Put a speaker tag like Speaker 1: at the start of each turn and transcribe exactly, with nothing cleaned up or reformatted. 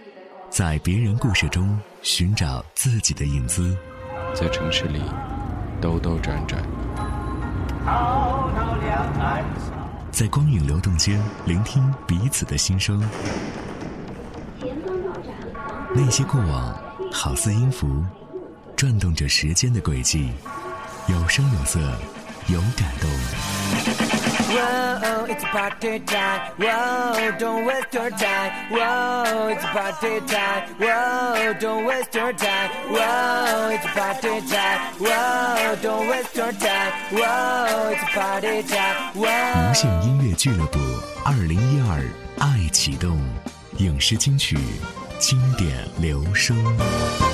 Speaker 1: 在别人故事中寻找自己的影子，
Speaker 2: 在城市里兜兜转转，
Speaker 1: 在光影流动间聆听彼此的心声。那些过往好似音符，转动着时间的轨迹，有声有色，有感动。
Speaker 3: Whoa, it's party time. Whoa, don't waste your time. Whoa, it's party time. Whoa, don't waste your time. Whoa, it's party time. Whoa, don't waste your time. Whoa, it's party time. Whoa.
Speaker 1: 无线音乐俱乐部二零一二爱启动，影视金曲，经典留声。